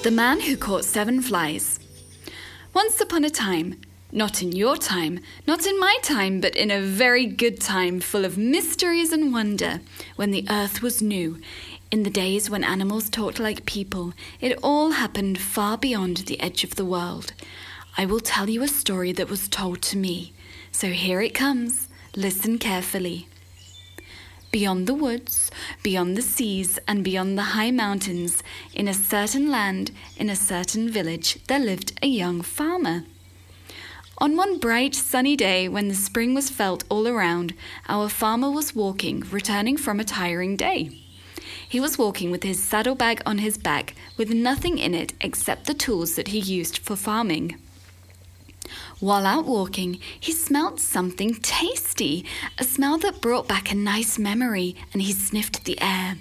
The Man Who Caught 7 Flies. Once upon a time, not in your time, not in my time, but in a very good time full of mysteries and wonder, when the earth was new, in the days when animals talked like people, it all happened far beyond the edge of the world. I will tell you a story that was told to me, so here it comes. Listen carefully. Beyond the woods, beyond the seas, and beyond the high mountains, in a certain land, in a certain village, there lived a young farmer. On one bright, sunny day, when the spring was felt all around, our farmer was walking, returning from a tiring day. He was walking with his saddlebag on his back, with nothing in it except the tools that he used for farming. While out walking, he smelt something tasty, a smell that brought back a nice memory, and he sniffed the air.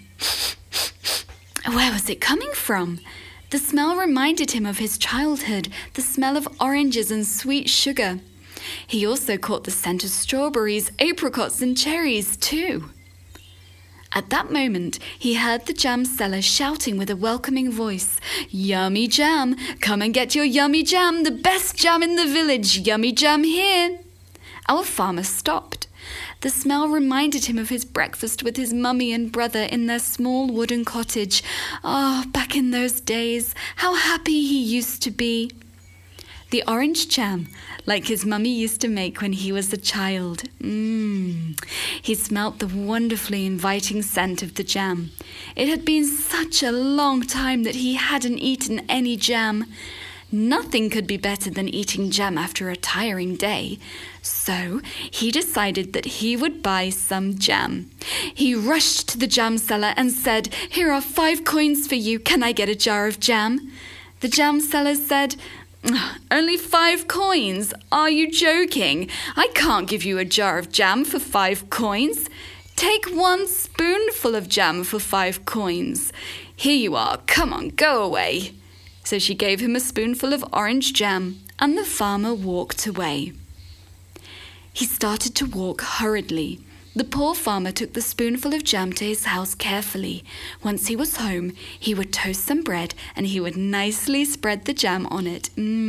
Where was it coming from? The smell reminded him of his childhood, the smell of oranges and sweet sugar. He also caught the scent of strawberries, apricots, and cherries, too. At that moment, he heard the jam seller shouting with a welcoming voice, "Yummy jam! Come and get your yummy jam, the best jam in the village! Yummy jam here!" Our farmer stopped. The smell reminded him of his breakfast with his mummy and brother in their small wooden cottage. Back in those days, how happy he used to be. The orange jam, like his mummy used to make when he was a child. He smelt the wonderfully inviting scent of the jam. It had been such a long time that he hadn't eaten any jam. Nothing could be better than eating jam after a tiring day. So he decided that he would buy some jam. He rushed to the jam seller and said, "Here are 5 coins for you. Can I get a jar of jam?" The jam seller said, "Only 5 coins? Are you joking? I can't give you a jar of jam for 5 coins. Take 1 spoonful of jam for 5 coins. Here you are. Come on, go away." So she gave him a spoonful of orange jam, and the farmer walked away. He started to walk hurriedly. The poor farmer took the spoonful of jam to his house carefully. Once he was home, he would toast some bread and he would nicely spread the jam on it.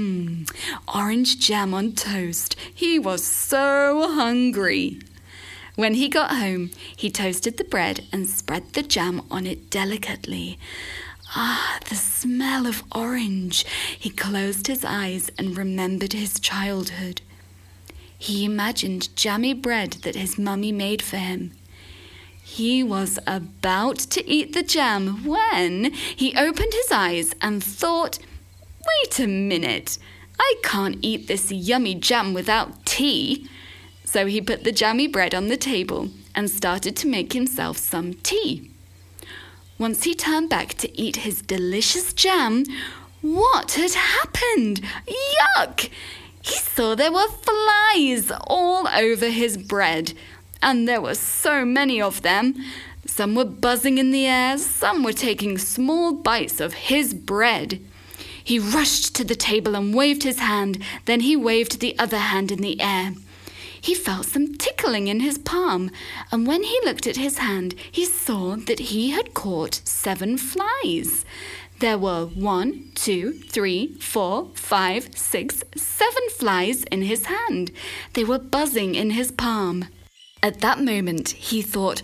Orange jam on toast. He was so hungry. When he got home, he toasted the bread and spread the jam on it delicately. The smell of orange. He closed his eyes and remembered his childhood. He imagined jammy bread that his mummy made for him. He was about to eat the jam when he opened his eyes and thought, "Wait a minute, I can't eat this yummy jam without tea." So he put the jammy bread on the table and started to make himself some tea. Once he turned back to eat his delicious jam, what had happened? Yuck! He saw there were flies all over his bread, and there were so many of them. Some were buzzing in the air, some were taking small bites of his bread. He rushed to the table and waved his hand, then he waved the other hand in the air. He felt some tickling in his palm, and when he looked at his hand, he saw that he had caught 7 flies. There were 1, 2, 3, 4, 5, 6, 7 flies in his hand. They were buzzing in his palm. At that moment, he thought,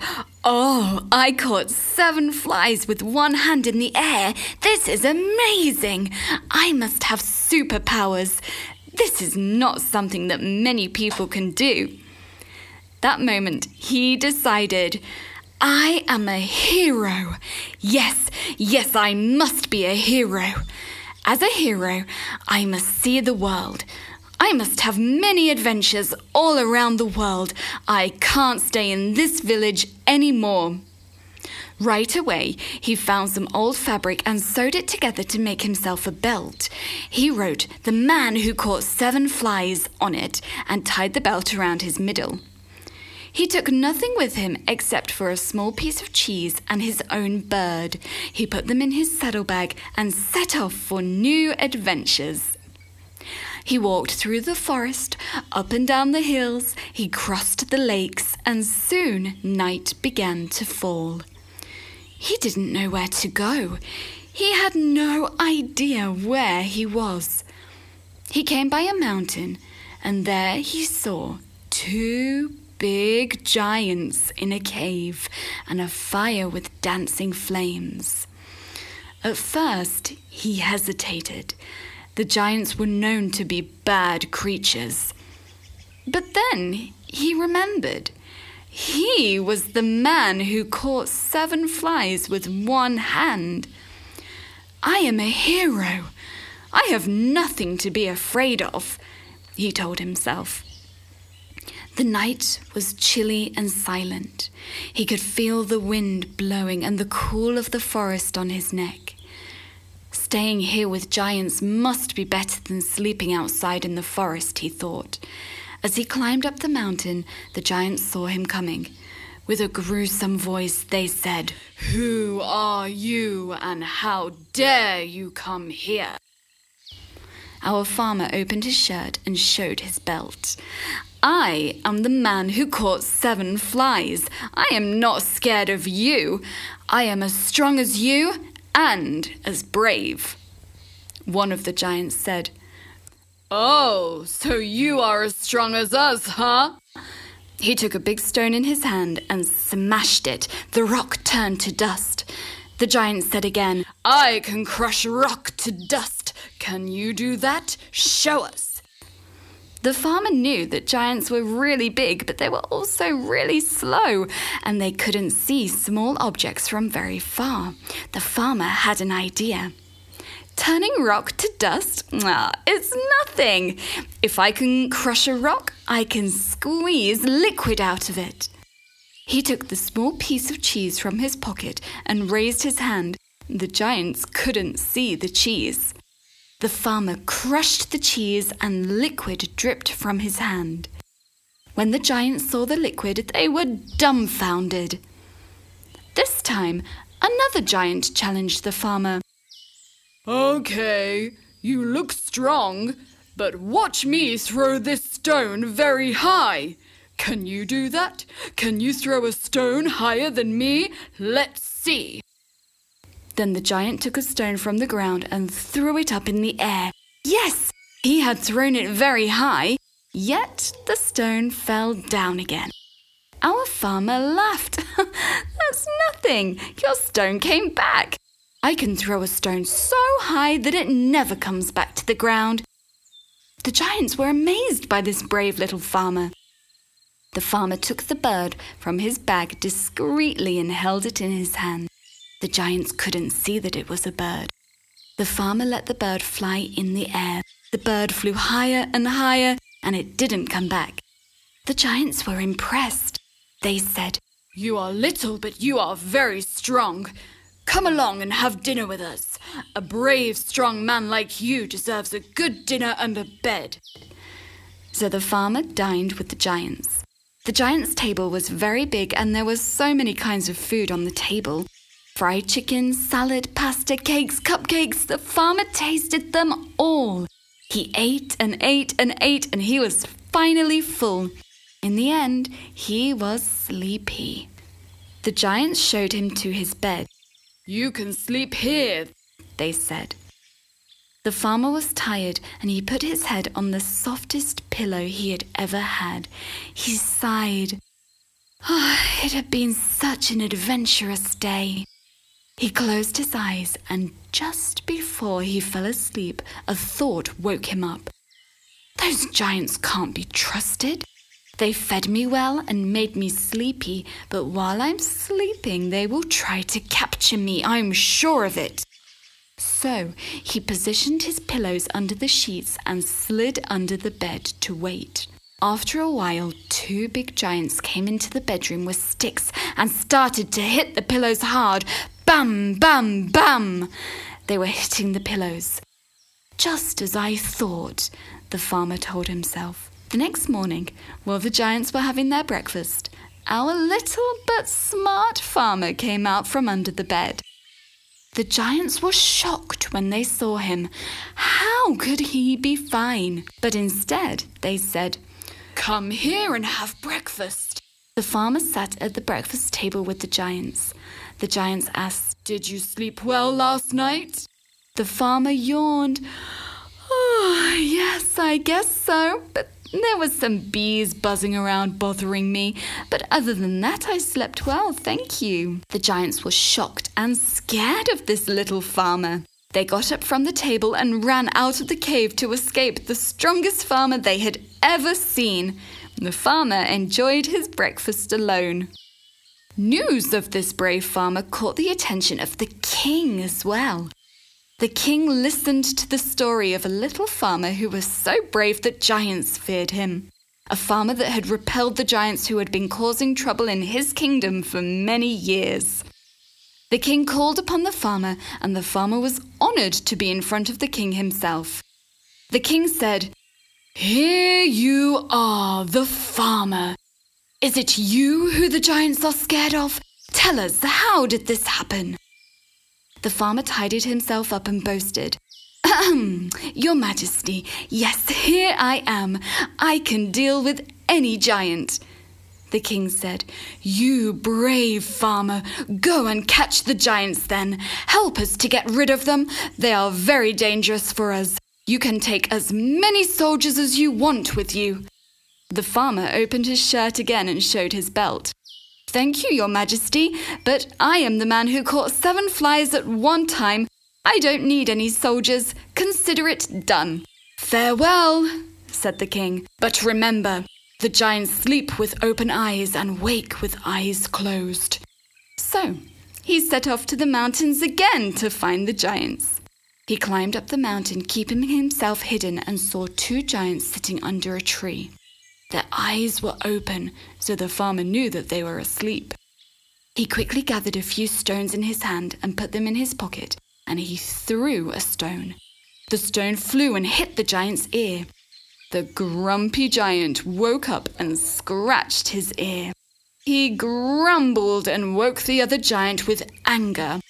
I caught 7 flies with 1 hand in the air. This is amazing. I must have superpowers. This is not something that many people can do. That moment, he decided, I am a hero. Yes, I must be a hero. As a hero, I must see the world. I must have many adventures all around the world. I can't stay in this village anymore. Right away, he found some old fabric and sewed it together to make himself a belt. He wrote "The Man Who Caught 7 Flies" on it and tied the belt around his middle. He took nothing with him except for a small piece of cheese and his own bird. He put them in his saddlebag and set off for new adventures. He walked through the forest, up and down the hills, he crossed the lakes, and soon night began to fall. He didn't know where to go. He had no idea where he was. He came by a mountain, and there he saw 2 big giants in a cave and a fire with dancing flames. At first, he hesitated. The giants were known to be bad creatures. But then he remembered. He was the man who caught 7 flies with one hand. "I am a hero. I have nothing to be afraid of," he told himself. The night was chilly and silent. He could feel the wind blowing and the cool of the forest on his neck. Staying here with giants must be better than sleeping outside in the forest, he thought. As he climbed up the mountain, the giants saw him coming. With a gruesome voice, they said, "Who are you, and how dare you come here?" Our farmer opened his shirt and showed his belt. "I am the man who caught 7 flies. I am not scared of you. I am as strong as you and as brave." One of the giants said, "Oh, so you are as strong as us, huh?" He took a big stone in his hand and smashed it. The rock turned to dust. The giant said again, "I can crush rock to dust. Can you do that? Show us." The farmer knew that giants were really big, but they were also really slow, and they couldn't see small objects from very far. The farmer had an idea. "Turning rock to dust? It's nothing. If I can crush a rock, I can squeeze liquid out of it." He took the small piece of cheese from his pocket and raised his hand. The giants couldn't see the cheese. The farmer crushed the cheese and liquid dripped from his hand. When the giants saw the liquid, they were dumbfounded. This time, another giant challenged the farmer. "Okay, you look strong, but watch me throw this stone very high. Can you do that? Can you throw a stone higher than me? Let's see." Then the giant took a stone from the ground and threw it up in the air. Yes, he had thrown it very high, yet the stone fell down again. Our farmer laughed. "That's nothing. Your stone came back. I can throw a stone so high that it never comes back to the ground." The giants were amazed by this brave little farmer. The farmer took the bird from his bag discreetly and held it in his hand. The giants couldn't see that it was a bird. The farmer let the bird fly in the air. The bird flew higher and higher, and it didn't come back. The giants were impressed. They said, "You are little, but you are very strong. Come along and have dinner with us. A brave, strong man like you deserves a good dinner and a bed." So the farmer dined with the giants. The giants' table was very big, and there were so many kinds of food on the table. Fried chicken, salad, pasta, cakes, cupcakes. The farmer tasted them all. He ate and ate and ate, and he was finally full. In the end, he was sleepy. The giants showed him to his bed. "You can sleep here," they said. The farmer was tired, and he put his head on the softest pillow he had ever had. He sighed. It had been such an adventurous day. He closed his eyes, and just before he fell asleep, a thought woke him up. "Those giants can't be trusted. They fed me well and made me sleepy, but while I'm sleeping, they will try to capture me. I'm sure of it." So he positioned his pillows under the sheets and slid under the bed to wait. After a while, 2 big giants came into the bedroom with sticks and started to hit the pillows hard. Bam, bam, bam! They were hitting the pillows. "Just as I thought," the farmer told himself. The next morning, while the giants were having their breakfast, our little but smart farmer came out from under the bed. The giants were shocked when they saw him. How could he be fine? But instead, they said, "Come here and have breakfast." The farmer sat at the breakfast table with the giants. The giants asked, "Did you sleep well last night?" The farmer yawned. "Oh, yes, I guess so, but there was some bees buzzing around bothering me. But other than that, I slept well, thank you." The giants were shocked and scared of this little farmer. They got up from the table and ran out of the cave to escape the strongest farmer they had ever seen. The farmer enjoyed his breakfast alone. News of this brave farmer caught the attention of the king as well. The king listened to the story of a little farmer who was so brave that giants feared him. A farmer that had repelled the giants who had been causing trouble in his kingdom for many years. The king called upon the farmer, and the farmer was honored to be in front of the king himself. The king said, "Here you are, the farmer. Is it you who the giants are scared of? Tell us, how did this happen?" The farmer tidied himself up and boasted, "Your Majesty, yes, here I am. I can deal with any giant." The king said, "You brave farmer, go and catch the giants then. Help us to get rid of them. They are very dangerous for us. You can take as many soldiers as you want with you." The farmer opened his shirt again and showed his belt. "Thank you, Your Majesty, but I am the man who caught 7 flies at one time. I don't need any soldiers. Consider it done." "Farewell," said the king. "But remember, the giants sleep with open eyes and wake with eyes closed." So he set off to the mountains again to find the giants. He climbed up the mountain, keeping himself hidden, and saw 2 giants sitting under a tree. Their eyes were open, so the farmer knew that they were asleep. He quickly gathered a few stones in his hand and put them in his pocket, and he threw a stone. The stone flew and hit the giant's ear. The grumpy giant woke up and scratched his ear. He grumbled and woke the other giant with anger.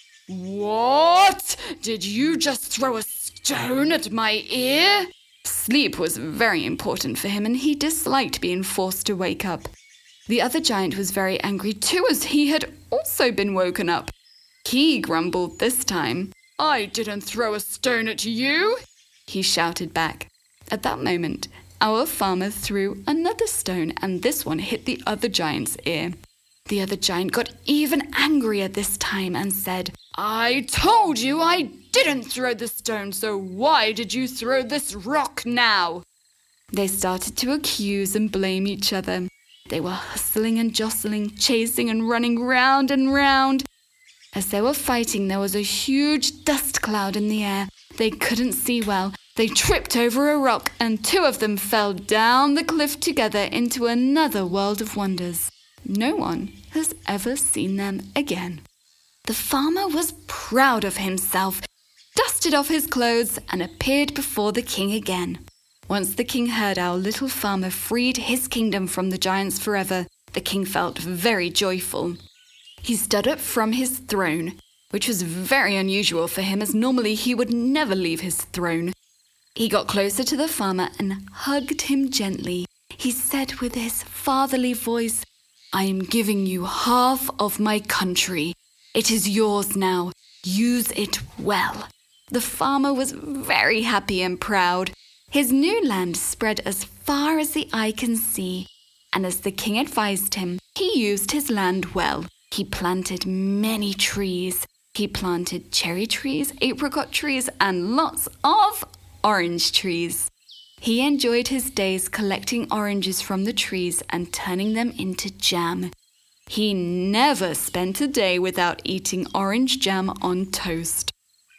"What? Did you just throw a stone at my ear?" Sleep was very important for him, and he disliked being forced to wake up. The other giant was very angry too, as he had also been woken up. He grumbled this time. "I didn't throw a stone at you," he shouted back. At that moment, our farmer threw another stone, and this one hit the other giant's ear. The other giant got even angrier this time and said, "I told you I didn't throw the stone, so why did you throw this rock now?" They started to accuse and blame each other. They were hustling and jostling, chasing and running round and round. As they were fighting, there was a huge dust cloud in the air. They couldn't see well. They tripped over a rock, and 2 of them fell down the cliff together into another world of wonders. No one has ever seen them again. The farmer was proud of himself, dusted off his clothes, and appeared before the king again. Once the king heard our little farmer freed his kingdom from the giants forever, the king felt very joyful. He stood up from his throne, which was very unusual for him, as normally he would never leave his throne. He got closer to the farmer and hugged him gently. He said with his fatherly voice, "I am giving you half of my country. It is yours now. Use it well." The farmer was very happy and proud. His new land spread as far as the eye can see, and as the king advised him, he used his land well. He planted many trees. He planted cherry trees, apricot trees, and lots of orange trees. He enjoyed his days collecting oranges from the trees and turning them into jam. He never spent a day without eating orange jam on toast.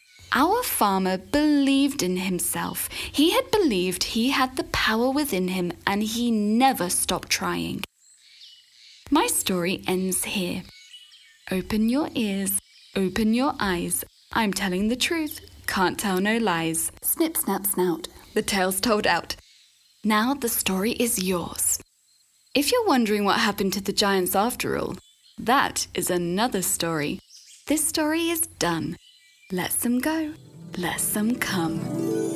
Our farmer believed in himself. He had believed he had the power within him, and he never stopped trying. My story ends here. Open your ears, open your eyes. I'm telling the truth, can't tell no lies. Snip, snap, snout. The tale's told out. Now the story is yours. If you're wondering what happened to the giants after all, that is another story. This story is done. Let them go. Let them come.